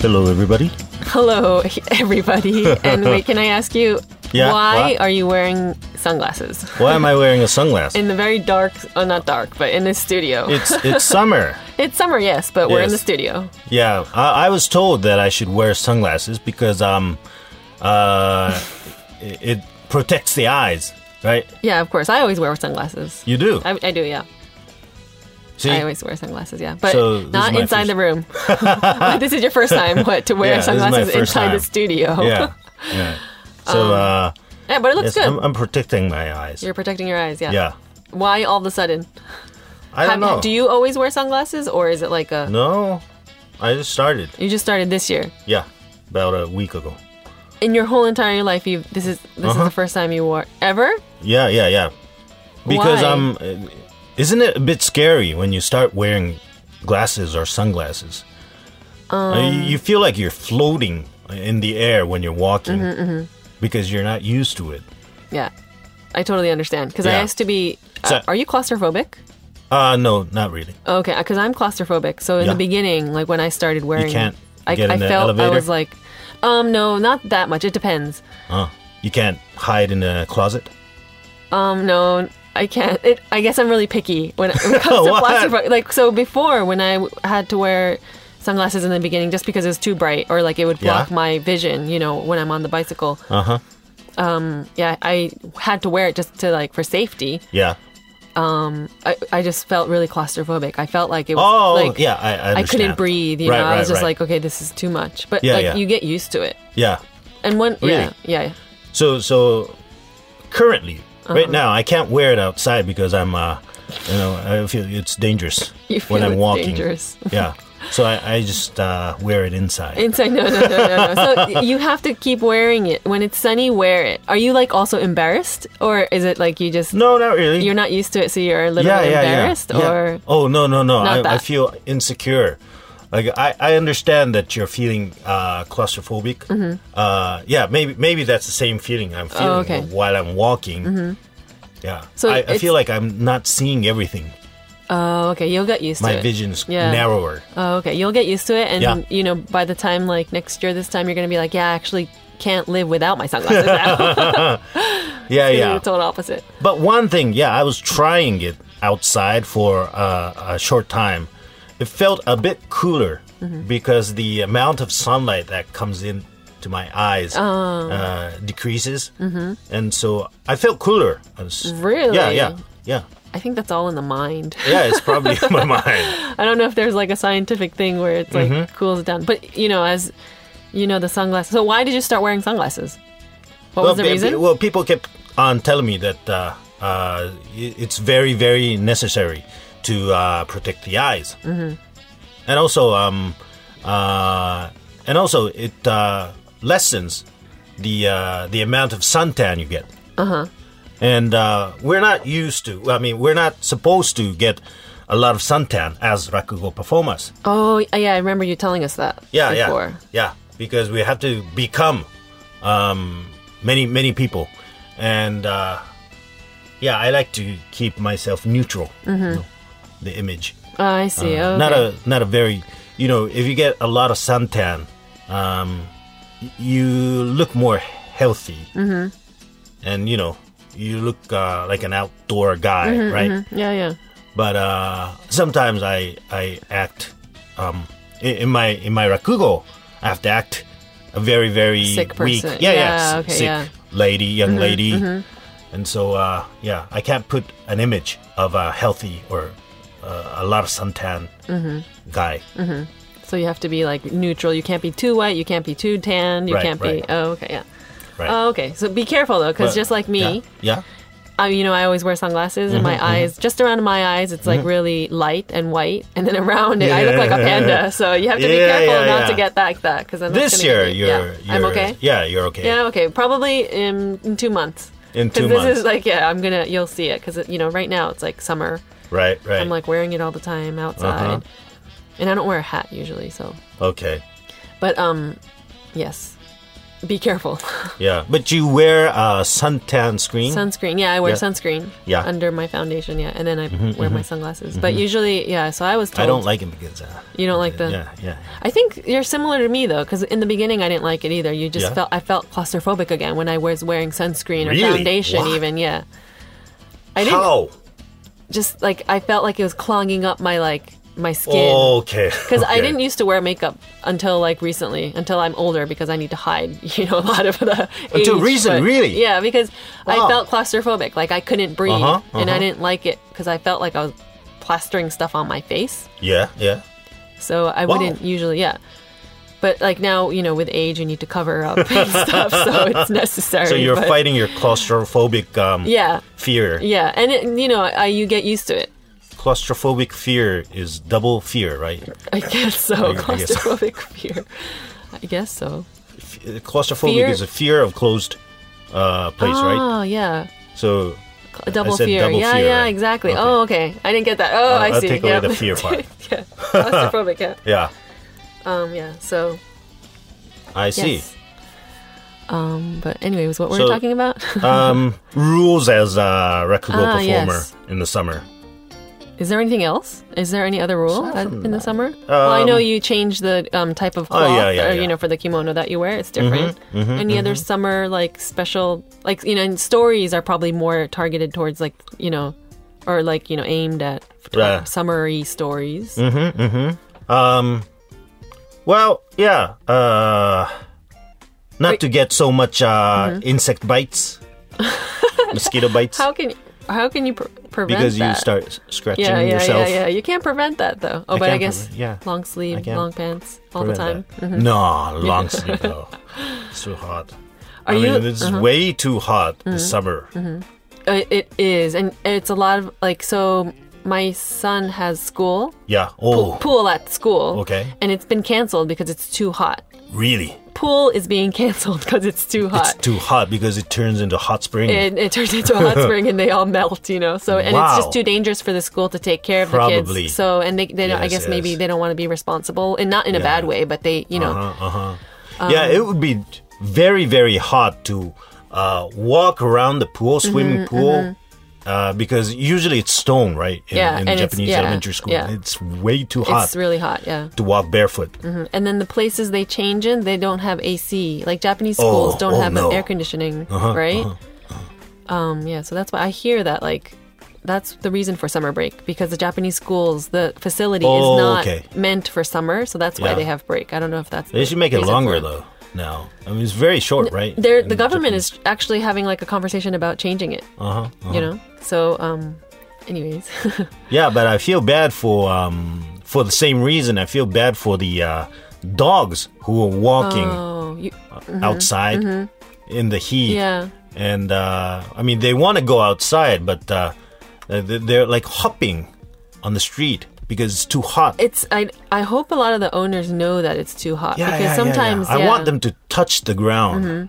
Hello, everybody. Hello, everybody. And wait, can I ask you, why what? are you wearing sunglasses? Why am I wearing a sunglass? In the very dark, not dark, but in the studio. It's summer. It's summer, yes, but we're in the Yes. studio. Yeah, I was told that I should wear sunglasses because it protects the eyes, right? Yeah, of course. I always wear sunglasses. You do. I do, yeah. See, I always wear sunglasses, yeah. But So, this not is my inside first- the room. This is your first time, to wear Yeah, this is my sunglasses first inside the time. studio. yeah. So, Yeah, but it looks yes, good. I'm protecting my eyes. You're protecting your eyes, yeah. Yeah. Why all of a sudden? I don't know. Do you always wear sunglasses, or is it like a... No, I just started. You just started this year? Yeah, about a week ago. In your whole entire life, this is the first time you wore... Ever? Yeah. Because Why? isn't it a bit scary when you start wearing glasses or sunglasses? You feel like you're floating in the air when you're walking because you're not used to it. Yeah. I totally understand. Because I Yeah. used to be... So- are you claustrophobic? No, not really. Okay, because I'm claustrophobic. So in the Yeah. beginning, like when I started wearing... can't I get in the felt elevator? I was like... no, not that much. It depends. You can't hide in a closet? No, I can't. I guess I'm really picky when it comes to What? claustrophobic. Like, so before, when I had to wear sunglasses in the beginning just because it was too bright or like it would block Yeah. my vision, when I'm on the bicycle. Uh-huh. Yeah, I had to wear it just to like for safety. Yeah. I just felt really claustrophobic. I felt like it was Oh, like yeah, I I understand. couldn't breathe. Right, I was just right. like, okay, this is too much. But Yeah, like yeah. you get used to it. Yeah. And when Really? yeah. So currently, right now, I can't wear it outside because I'm, I feel it's dangerous You feel when I'm it's walking. dangerous. Yeah. So I just wear it inside. Inside, no. So you have to keep wearing it. When it's sunny, wear it. Are you like also embarrassed? Or is it like you just, No, not really. you're not used to it, so you're a little bit embarrassed? Yeah. Or Oh, no. I that. feel insecure. Like, I understand that you're feeling claustrophobic. Yeah, maybe that's the same feeling I'm feeling okay. while I'm walking. Yeah. So I it's- feel like I'm not seeing everything. Oh, okay, you'll get used to My it. vision's Yeah. narrower. Oh, okay, you'll get used to it. And, Yeah. by the time like next year, this time, you're going to be like, yeah, I actually can't live without my sunglasses now. Yeah. The total opposite. But one thing, I was trying it outside for a short time. It felt a bit cooler because the amount of sunlight that comes in to my eyes decreases. And so I felt cooler. Really? Yeah. I think that's all in the mind. Yeah, it's probably in my mind. I don't know if there's like a scientific thing where it's like cools it down. But, as the sunglasses. So why did you start wearing sunglasses? What was the reason? Well, people kept on telling me that it's very, very necessary to protect the eyes, and also it lessens the amount of suntan you get. And we're not used to. I mean, we're not supposed to get a lot of suntan as rakugo performers. Oh, yeah, I remember you telling us that before. Yeah, because we have to become many people, and I like to keep myself neutral. The image. Oh, I see. Okay. Not a very. If you get a lot of suntan, you look more healthy, and you look like an outdoor guy, right? Yeah. But sometimes I act in my rakugo. I have to act a very, very Sick weak, person. Okay, sick yeah. lady, young lady, and so I can't put an image of a healthy or a lot of suntan guy. So you have to be like neutral. You can't be too white. You can't be too tan. You Right, can't right. be. Oh, okay, yeah. Right. Oh, okay. So be careful though, because But- just like me, yeah. I always wear sunglasses, and my eyes, just around my eyes, it's like really light and white, and then around it, I look like a panda. So you have to be careful not to get that, because This year you're I'm okay. Yeah, you're okay. Yeah, okay. Probably in 2 months. In 2 Because months. this is like, you'll see it, because right now it's like summer. Right. I'm like wearing it all the time outside, and I don't wear a hat usually. So, Okay. but yes. be careful. Yeah, but you wear suntan screen. Sunscreen. Yeah, I wear sunscreen. Yeah. Under my foundation. Yeah, and then I wear my sunglasses. But usually, yeah. So I was told. I don't like it because you don't like the. Yeah. I think you're similar to me though, because in the beginning I didn't like it either. You just I felt claustrophobic again when I was wearing sunscreen or Really? foundation. What? Even I didn't. How? Just like I felt like it was clogging up my skin. Oh, okay. Because I didn't used to wear makeup until recently, until I'm older, because I need to hide, a lot of the Until age, recent, but- really? Yeah, because I Wow. felt claustrophobic, like I couldn't breathe, and I didn't like it because I felt like I was plastering stuff on my face. Yeah. So I Wow. wouldn't usually, But like now, with age, you need to cover up and stuff, so it's necessary. So you're but- fighting your claustrophobic Yeah, fear. yeah, and you get used to it. Claustrophobic fear is double fear, right? I guess so. I guess so. Claustrophobic fear. I guess so. Claustrophobic Fear? is a fear of closed place, right? Oh, yeah. So A double I said fear. double yeah, fear, yeah, right? exactly. Okay. Oh, okay. I didn't get that. Oh, I I'll see. take away yeah. the fear part. Yeah. Claustrophobic, yeah. Yeah, Yeah, so, I see. yes. But anyways, what were So- we talking about? Rules as a rakugo performer yes. in the summer. Is there anything else? Is there any other rule Aside from in the summer? Well, I know you change the type of cloth, yeah. for the kimono that you wear. It's different. Any other summer, special, and stories are probably more targeted towards, or, aimed at Yeah. summery stories. Well, yeah. Not to get so much insect bites, mosquito bites, How can you prevent because that? you start scratching yeah, yourself. Yeah. You can't prevent that though. Oh, but I can't guess long I sleeve, can't long pants all the time. Prevent that. No, long sleeve though. It's too hot. Are you- it's way too hot this summer. It is, and it's a lot of so. My son has school Yeah. Oh, pool at school. Okay. and it's been canceled because it's too hot. really? Pool is being canceled because it's too hot. It's too hot because it turns into hot spring. It turns into a hot spring and they all melt, So, and it's Wow. just too dangerous for the school to take care of the Probably. kids. So, and they don't, I Yes, guess maybe yes. they don't want to be responsible, and not in a bad way, but they, Yeah, it would be very, very hot to walk around the pool, swimming pool, because usually it's stone, right? In, Yeah, in and it's- Japanese yeah, elementary school. yeah. It's way too hot It's really hot, yeah. to walk barefoot. And then the places they change in, they don't have AC. Like Japanese schools don't have no. air conditioning, right? Yeah, so that's why I hear that that's the reason for summer break, because the Japanese schools, the facility is not okay. meant for summer, so that's why Yeah. they have break. I don't know if that's They the should make it reason longer for it. though. Now, I mean, it's very short, right? The government is actually having a conversation about changing it. So anyways. Yeah, but I feel bad for the same reason. I feel bad for the dogs who are walking outside in the heat. Yeah. And I mean, they want to go outside, but they're like hopping on the street because it's too hot. I hope a lot of the owners know that it's too hot, because sometimes I want them to touch the ground.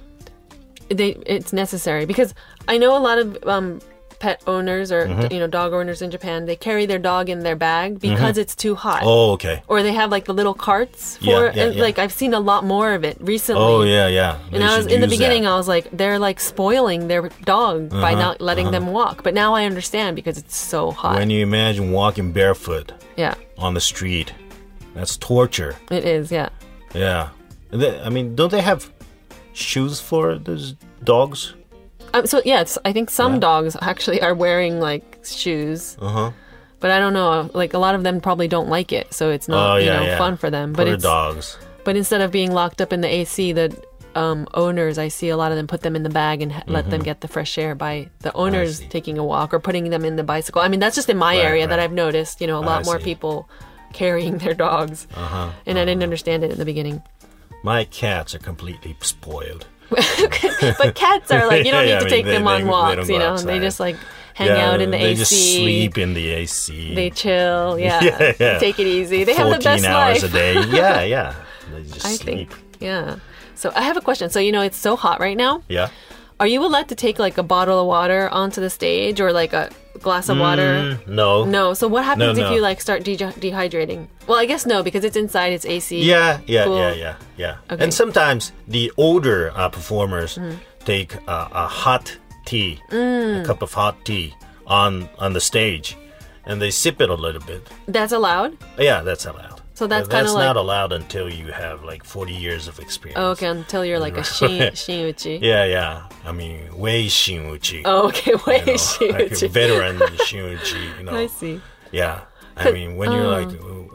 it's necessary, because I know a lot of pet owners or dog owners in Japan, they carry their dog in their bag because it's too hot. Oh, okay. Or they have the little carts for Yeah, yeah. I've seen a lot more of it recently. Oh, yeah. And I was in the beginning, I was like, they're spoiling their dog by not letting them walk. But now I understand, because it's so hot. When you imagine walking barefoot Yeah, on the street, that's torture. it is. Yeah. Yeah. I mean, don't they have shoes for those dogs? So yes, I think some dogs actually are wearing shoes. But I don't know. A lot of them probably don't like it, so it's not fun for them. But Poor it's dogs. But instead of being locked up in the AC, the owners, I see a lot of them put them in the bag and let them get the fresh air by the owners see. taking a walk or putting them in the bicycle. I mean, that's just in my area that I've noticed. A lot more see. people carrying their dogs, and I didn't understand it in the beginning. My cats are completely spoiled. But cats are you don't Yeah, need to I mean, take they- them on they walks. don't They go outside. just hang out in the they AC. just sleep in the AC. They chill. Yeah. Yeah. Take it easy. They have the 14 best hours life. a day. Yeah. They just I sleep. think. Yeah. So I have a question. So it's so hot right now. Yeah. Are you allowed to take a bottle of water onto the stage, or a glass of water? No. No. So what happens No, if no. you like start dehydrating? Well, I guess no, because it's inside. It's AC. Yeah. Cool. Okay. And sometimes the older performers take a hot tea, a cup of hot tea on the stage, and they sip it a little bit. That's allowed? Yeah, that's allowed. So that's But kind of like... not allowed until you have like 40 years of experience. Oh, okay, until you're like a shin-uchi. Yeah. I mean, wei shin-uchi. Oh, okay, Like wait, a shin-uchi. veteran shin-uchi, I see. Yeah. I mean, when you're like,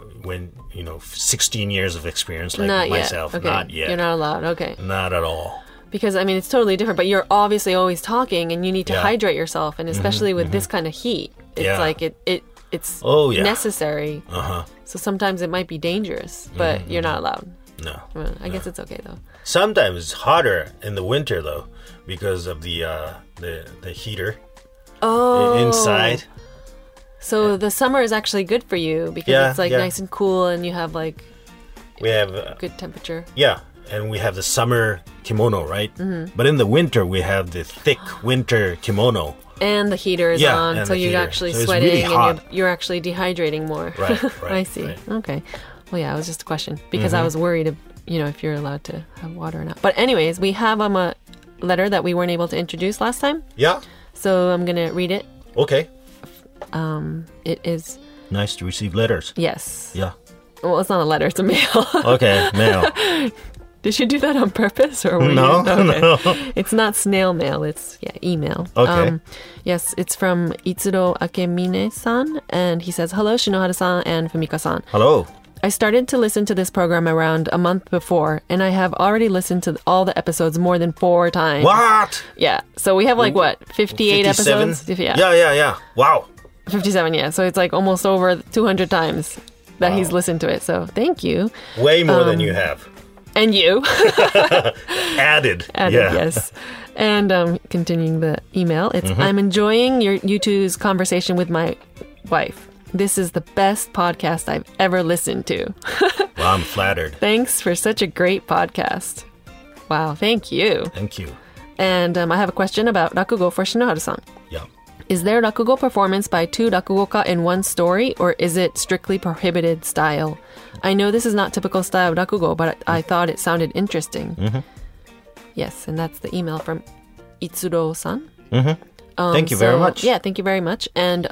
16 years of experience like Not myself, yet. Okay. not yet. You're not allowed. Okay. Not at all. Because, I mean, it's totally different, but you're obviously always talking and you need to Yeah. hydrate yourself. And especially with this kind of heat, it's Yeah. like it's Oh, yeah. necessary. So sometimes it might be dangerous, but you're not allowed. No. Well, I guess it's okay, though. Sometimes it's hotter in the winter, though, because of the heater inside. So the summer is actually good for you because Yeah, it's like yeah. nice and cool and you have like We have... good temperature. Yeah, and we have the summer kimono, right? But in the winter, we have the thick winter kimono. And the heater is Yeah, on, and so the you're heater. actually So it's sweating really and hot. you're actually dehydrating more. Right, I see. right. Okay. Well, yeah, it was just a question because I was worried, if you're allowed to have water or not. But anyways, we have a letter that we weren't able to introduce last time. Yeah? So I'm going to read it. Okay. It is, Nice to receive letters. yes. Yeah. Well, it's not a letter, it's a mail. Okay, mail. Did you do that on purpose? Or were No, you? Okay. no. It's not snail mail, it's email. Okay. Yes, it's from Itsuro Akemine-san, and he says, "Hello, Shinohara-san and Fumika-san. Hello. I started to listen to this program around a month before, and I have already listened to all the episodes more than 4 times. What? Yeah, so we have 58 57? episodes? Yeah. Wow. 57, yeah. So it's like almost over 200 times that he's listened to it. So thank you. Way more than you have. And you. Added. Added, Yeah. yes. And continuing the email, it's I'm enjoying you two's conversation with my wife. This is the best podcast I've ever listened to. Well, I'm flattered. Thanks for such a great podcast. Wow, thank you. Thank you. And I have a question about rakugo for Shinohara-san. Yeah. Is there rakugo performance by 2 rakugoka in one story, or is it strictly prohibited style? I know this is not typical style of rakugo, but I thought it sounded interesting. Yes, and that's the email from Itsuro-san. Thank you very much. Yeah, thank you very much. And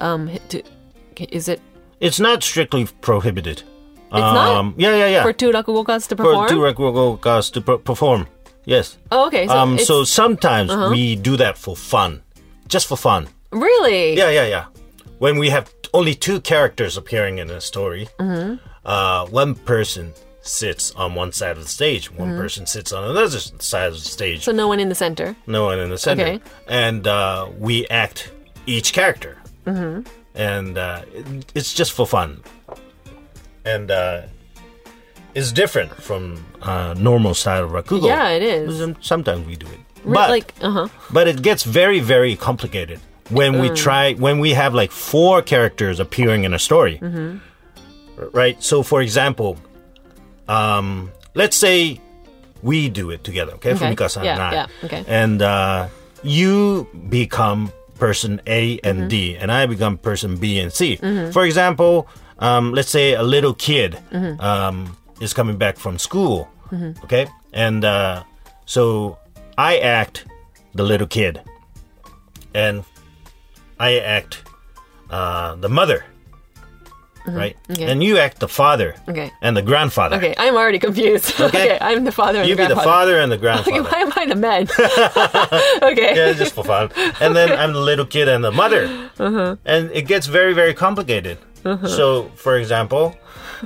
is it It's not strictly prohibited. It's not? Yeah. for 2 rakugokas to For perform? 2 rakugokas to perform. Yes. Oh, okay. So, it's, So sometimes we do that for fun. Just for fun. really? Yeah. When we have only 2 characters appearing in a story, one person sits on one side of the stage, one person sits on another side of the stage. So no one in the center. No one in the center. Okay. And we act each character. And it's just for fun. And it's different from normal style of rakugo. Yeah, it is. Sometimes we do it. But it gets very, very complicated when we have like 4 characters appearing in a story. Right? So, for example, let's say we do it together, okay? Fumika-san and I. Yeah, okay. And you become person A and D, and I become person B and C. For example, let's say a little kid is coming back from school, okay? And so I act the little kid, and I act the mother, right? Okay. And you act the father and the grandfather. Okay, I'm already confused. Okay, I'm the father and You the be the grandfather. father and the grandfather. Okay, why am I the man? Okay. Yeah, just for fun. And then I'm the little kid and the mother. And it gets very, very complicated. So, for example,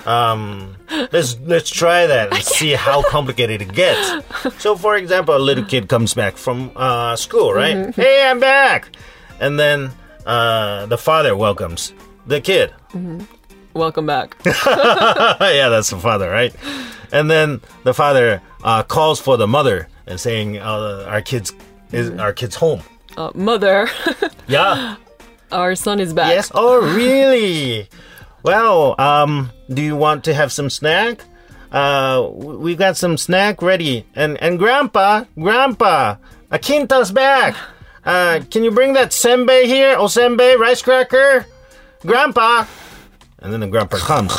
let's try that and see how complicated it gets. So, for example, a little kid comes back from school, right? Hey, I'm back. And then the father welcomes the kid. Welcome back. Yeah, that's the father, right? And then the father calls for the mother and saying, "Our kid's home." Mother, Yeah. our son is back. Yes. Oh, really? Well, do you want to have some snack? We've got some snack ready. And Grandpa, Akinta's back. Can you bring that senbei here? Oh, senbei, rice cracker? Grandpa! And then the grandpa comes.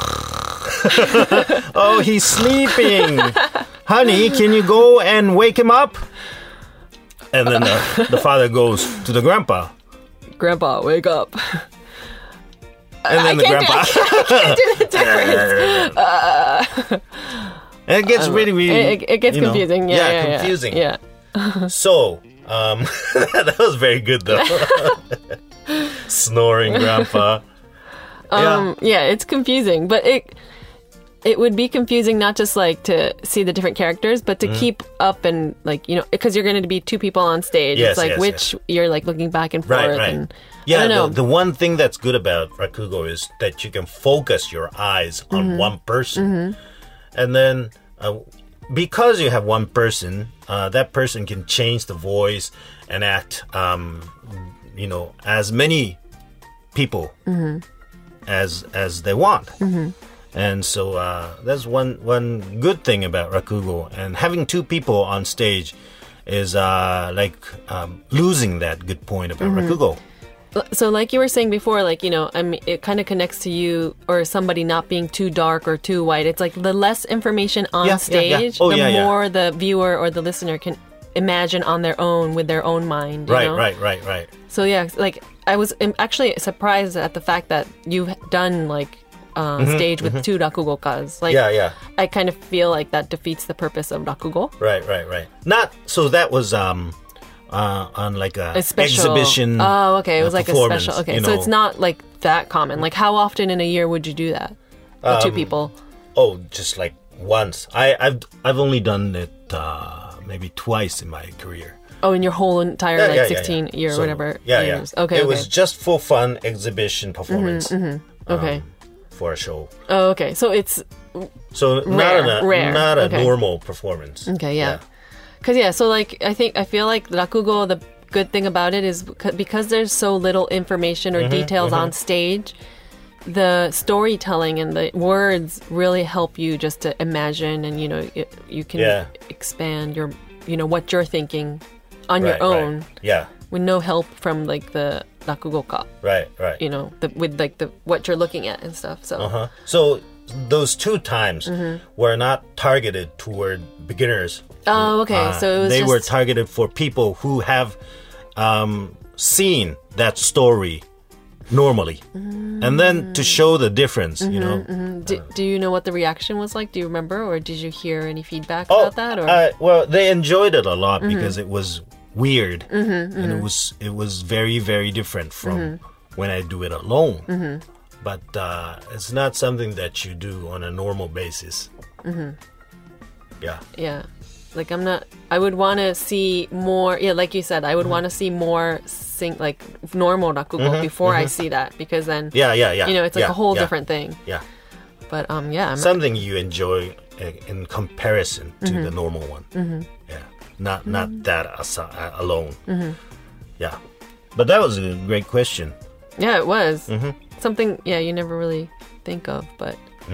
Oh, he's sleeping. Honey, can you go and wake him up? And then the father goes to the grandpa. Grandpa, wake up. And then the grandpa. I can't do the difference. And it gets really, It gets confusing. Yeah, confusing. Yeah. So, that was very good though. Snoring grandpa. Yeah, it's confusing, but it would be confusing not just like to see the different characters, but to keep up and like, because you're going to be two people on stage. Yes, it's like yes. you're like looking back and forth. Right. And, Yeah, I don't know. the one thing that's good about Rakugo is that you can focus your eyes on one person. And then because you have one person, that person can change the voice and act, as many people as they want. And so that's one good thing about Rakugo. And having two people on stage is losing that good point about Rakugo. So like you were saying before, like, it kind of connects to you or somebody not being too dark or too white. It's like the less information on stage, the more the viewer or the listener can imagine on their own with their own mind. You know? Right. So yeah, like I was actually surprised at the fact that you've done like stage with two rakugokas. Like, I kind of feel like that defeats the purpose of rakugo. Right. Not so that was on like a special exhibition. Oh, okay. It was like a special. Okay, so know. it's not like that common. Like, how often in a year would you do that with two people? Oh, just like once. I've only done it maybe twice in my career. Oh, in your whole entire 16 year or whatever years. Okay, It was just for fun exhibition performance. Okay. For a show. Oh, okay. So it's rare. Not a Okay. normal performance. Okay, yeah. Because, so like, I feel like Rakugo, the good thing about it is because there's so little information or details on stage, the storytelling and the words really help you just to imagine and, you can expand your, what you're thinking on your own. Right. Yeah. With no help from like the rakugoka. Right. With like the what you're looking at and stuff. So So those two times were not targeted toward beginners. Oh, okay. So it was they were targeted for people who have seen that story normally, and then to show the difference. Do you know what the reaction was like? Do you remember, or did you hear any feedback about that? Or well, they enjoyed it a lot because it was weird and it was very, very different from when I do it alone. But it's not something that you do on a normal basis. Yeah. Like I would want to see more. Yeah, like you said, I would want to see more like normal rakugo before I see that, because then it's like a whole different thing. Yeah. But something you enjoy in comparison to the normal one. Yeah. Not that alone. Yeah. But that was a great question. Yeah, it was something. Yeah, you never really think of, but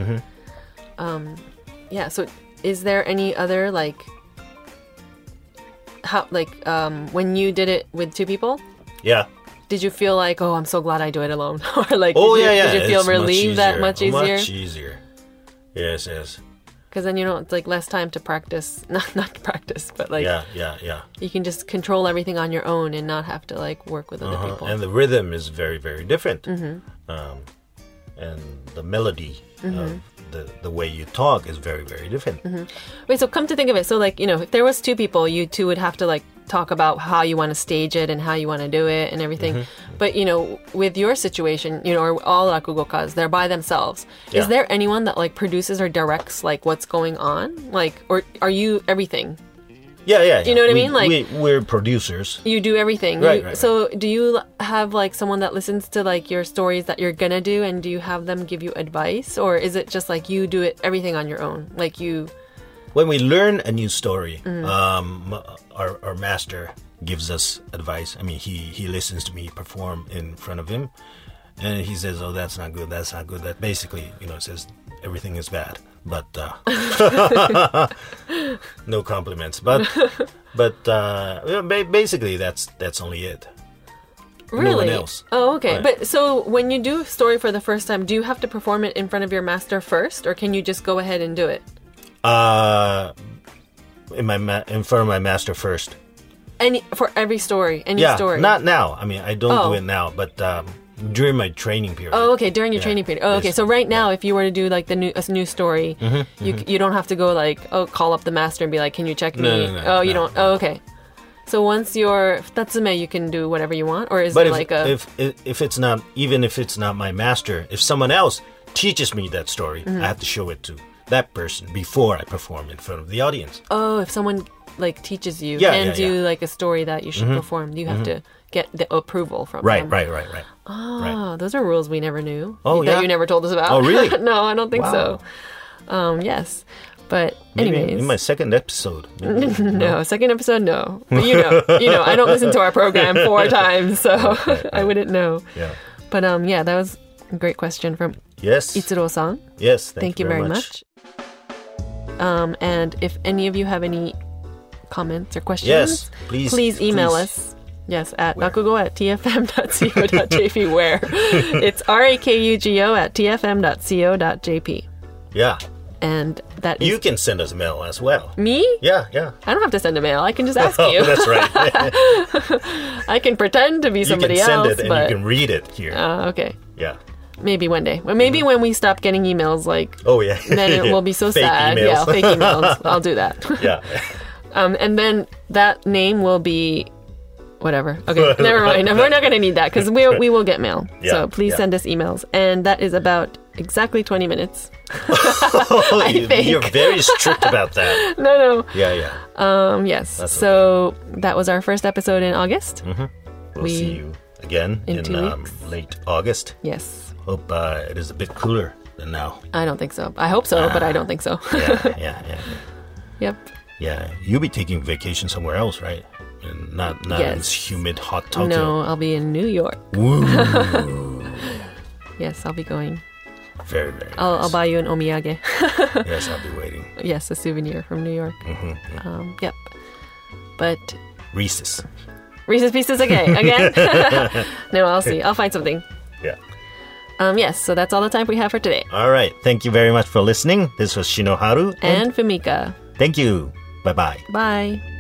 yeah. So, is there any other like? How when you did it with two people? Yeah. Did you feel like, oh, I'm so glad I do it alone, or like, did you feel relieved that much easier? Much easier. Yes. Because then it's like less time to practice, not practice, but like yeah. You can just control everything on your own and not have to like work with other people. And the rhythm is very, very different. And the melody of the way you talk is very, very different. Wait, so come to think of it, so like, if there was two people, you two would have to like talk about how you want to stage it and how you want to do it and everything. But, with your situation, or all rakugokas, they're by themselves. Yeah. Is there anyone that like produces or directs like what's going on? Like, or are you everything? Yeah. You know what I mean? Like, we're producers. You do everything. Right. So do you have like someone that listens to like your stories that you're gonna do, and do you have them give you advice, or is it just like you do everything on your own? Like you... When we learn a new story, our master gives us advice. I mean, he listens to me perform in front of him, and he says, "Oh, that's not good. That's not good." That basically, says everything is bad. But no compliments. But basically, that's only it. Really? No one else. Oh, okay. Right. But so when you do a story for the first time, do you have to perform it in front of your master first, or can you just go ahead and do it? In front of my master first. For every story, any Yeah, story. not now. I mean, I don't Oh. do it now, but during my training period. Oh, okay. During your training period. Oh, okay. Yes. So right now, if you were to do like a new story, you don't have to go like call up the master and be like, "Can you check me?" No, oh, you no, don't. Oh, okay. So once you're Tatsume, you can do whatever you want, or is But it like a? if it's not, even if it's not my master, if someone else teaches me that story, Mm-hmm. I have to show it to that person before I perform in front of the audience. Oh, if someone like teaches you, Yeah, hands yeah, you yeah. like a story that you should perform, you have to get the approval from Right, them. right. Oh, Right. those are rules we never knew. Oh, that yeah? you never told us about. Oh, really? No, I don't think Wow. so. Yes, but Maybe anyways, in my second episode. maybe. no, second episode, no. But you know, I don't listen to our program 4 times, so I wouldn't know. Yeah. But yeah, that was a great question from Yes. Itsuro-san. Yes. Thank you very much. And if any of you have any comments or questions, Yes, please, email please. us. Yes, at rakugo@tfm.co.jp, where it's rakugo@tfm.co.jp. Yeah. And that is You can send us mail as well. me? Yeah, yeah. I don't have to send a mail. I can just ask Oh, you. that's right. I can pretend to be You somebody can send else, it and but you can read it here. okay. Yeah. Maybe one day. Well, maybe when we stop getting emails, like Oh, yeah. then it will be so Fake sad. emails. Yeah, fake emails. I'll do that. Yeah. And then that name will be whatever. Okay, never mind. We're not going to need that because we will get mail. Yeah, So please yeah. send us emails. And that is about exactly 20 minutes. think. You're very strict about that. No. Yeah, yeah. Yes. That's So that was our first episode in August. We'll see you again in in 2 weeks. late August. Yes. Hope it is a bit cooler than now. I don't think so. I hope so, but I don't think so. Yeah. Yep. Yeah, you'll be taking vacation somewhere else, right? And not in Yes. this humid, hot Tokyo. No, I'll be in New York. Woo. Yes, I'll be going. Very, very nice. I'll buy you an omiyage. Yes, I'll be waiting. Yes, a souvenir from New York. Yep. But Reese's. Reese's Pieces again. No, I'll see. I'll find something. Yeah. Yes, so that's all the time we have for today. All right. Thank you very much for listening. This was Shinoharu. And Fumika. Thank you. Bye-bye. Bye.